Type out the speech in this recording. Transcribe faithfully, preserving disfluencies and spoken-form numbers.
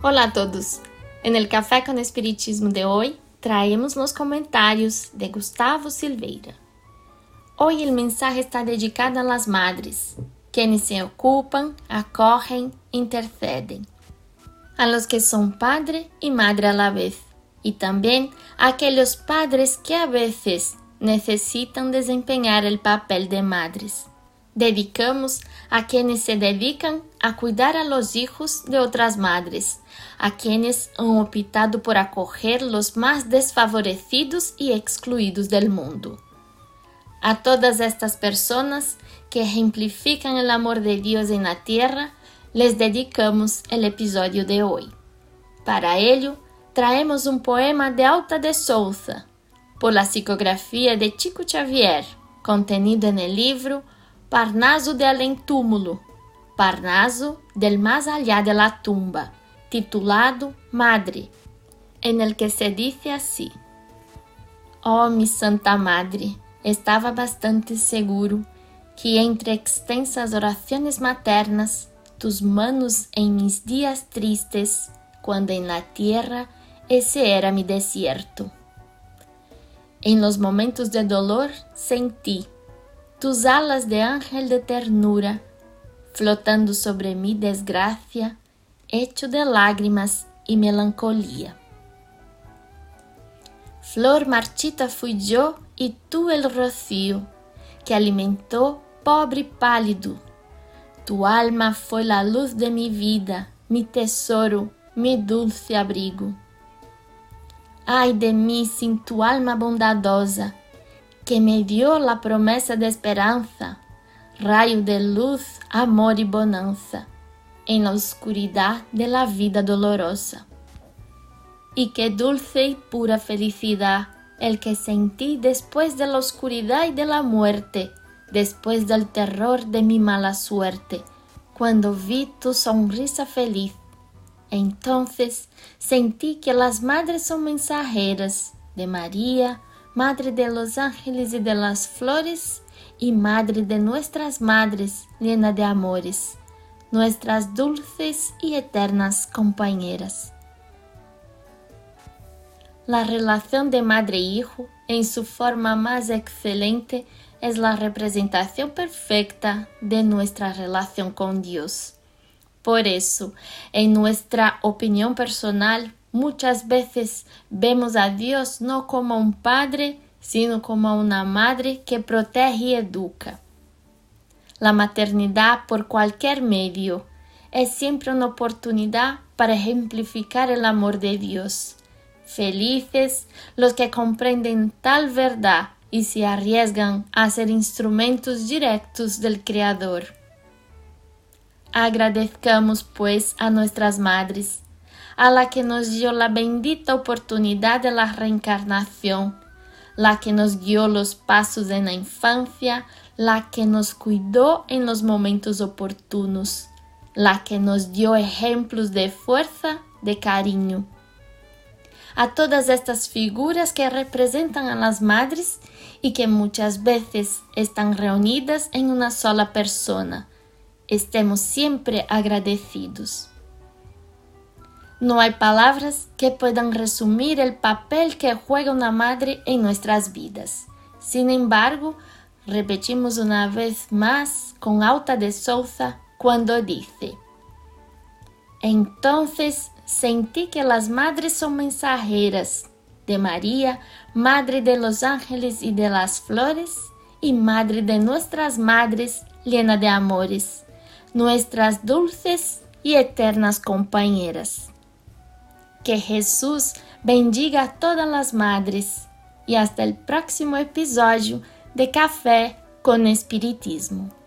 Hola a todos. En el Café con Espiritismo de hoy traemos los comentarios de Gustavo Silveira. Hoy el mensaje está dedicado a las madres, quienes se ocupan, acogen, interceden. A los que son padre y madre a la vez, y también a aquellos padres que a veces necesitan desempeñar el papel de madres. Dedicamos a quienes se dedican a cuidar a los hijos de otras madres, a quienes han optado por acoger los más desfavorecidos y excluidos del mundo. A todas estas personas que ejemplifican el amor de Dios en la tierra, les dedicamos el episodio de hoy. Para ello, traemos un poema de Alta de Souza, por la psicografía de Chico Xavier, contenido en el libro Parnaso de Além Túmulo, Parnaso del Más Allá de la Tumba, titulado Madre, en el que se dice así: Oh, mi Santa Madre, estaba bastante seguro que entre extensas oraciones maternas, tus manos en mis días tristes, cuando en la tierra ese era mi desierto. En los momentos de dolor sentí tus alas de ángel de ternura, flotando sobre mi desgracia, hecho de lágrimas y melancolía. Flor marchita fui yo y tú el rocío, que alimentó pobre y pálido. Tu alma fue la luz de mi vida, mi tesoro, mi dulce abrigo. Ay de mí sin tu alma bondadosa, que me dio la promesa de esperanza, rayo de luz, amor y bonanza, en la oscuridad de la vida dolorosa. Y qué dulce y pura felicidad el que sentí después de la oscuridad y de la muerte, después del terror de mi mala suerte, cuando vi tu sonrisa feliz. Entonces sentí que las madres son mensajeras de María, Madre de los ángeles y de las flores, y Madre de nuestras madres llena de amores, nuestras dulces y eternas compañeras. La relación de madre-hijo, en su forma más excelente, es la representación perfecta de nuestra relación con Dios. Por eso, en nuestra opinión personal, muchas veces vemos a Dios no como un padre, sino como una madre que protege y educa. La maternidad, por cualquier medio, es siempre una oportunidad para ejemplificar el amor de Dios. Felices los que comprenden tal verdad y se arriesgan a ser instrumentos directos del Creador. Agradezcamos, pues, a nuestras madres, a la que nos dio la bendita oportunidad de la reencarnación, la que nos guió los pasos en la infancia, la que nos cuidó en los momentos oportunos, la que nos dio ejemplos de fuerza, de cariño. A todas estas figuras que representan a las madres y que muchas veces están reunidas en una sola persona, estemos siempre agradecidos. No hay palabras que puedan resumir el papel que juega una madre en nuestras vidas. Sin embargo, repetimos una vez más con Alta de Souza cuando dice: Entonces sentí que las madres son mensajeras de María, Madre de los ángeles y de las flores, y Madre de nuestras madres llena de amores, nuestras dulces y eternas compañeras. Que Jesús bendiga a todas las madres y hasta el próximo episodio de Café con Espiritismo.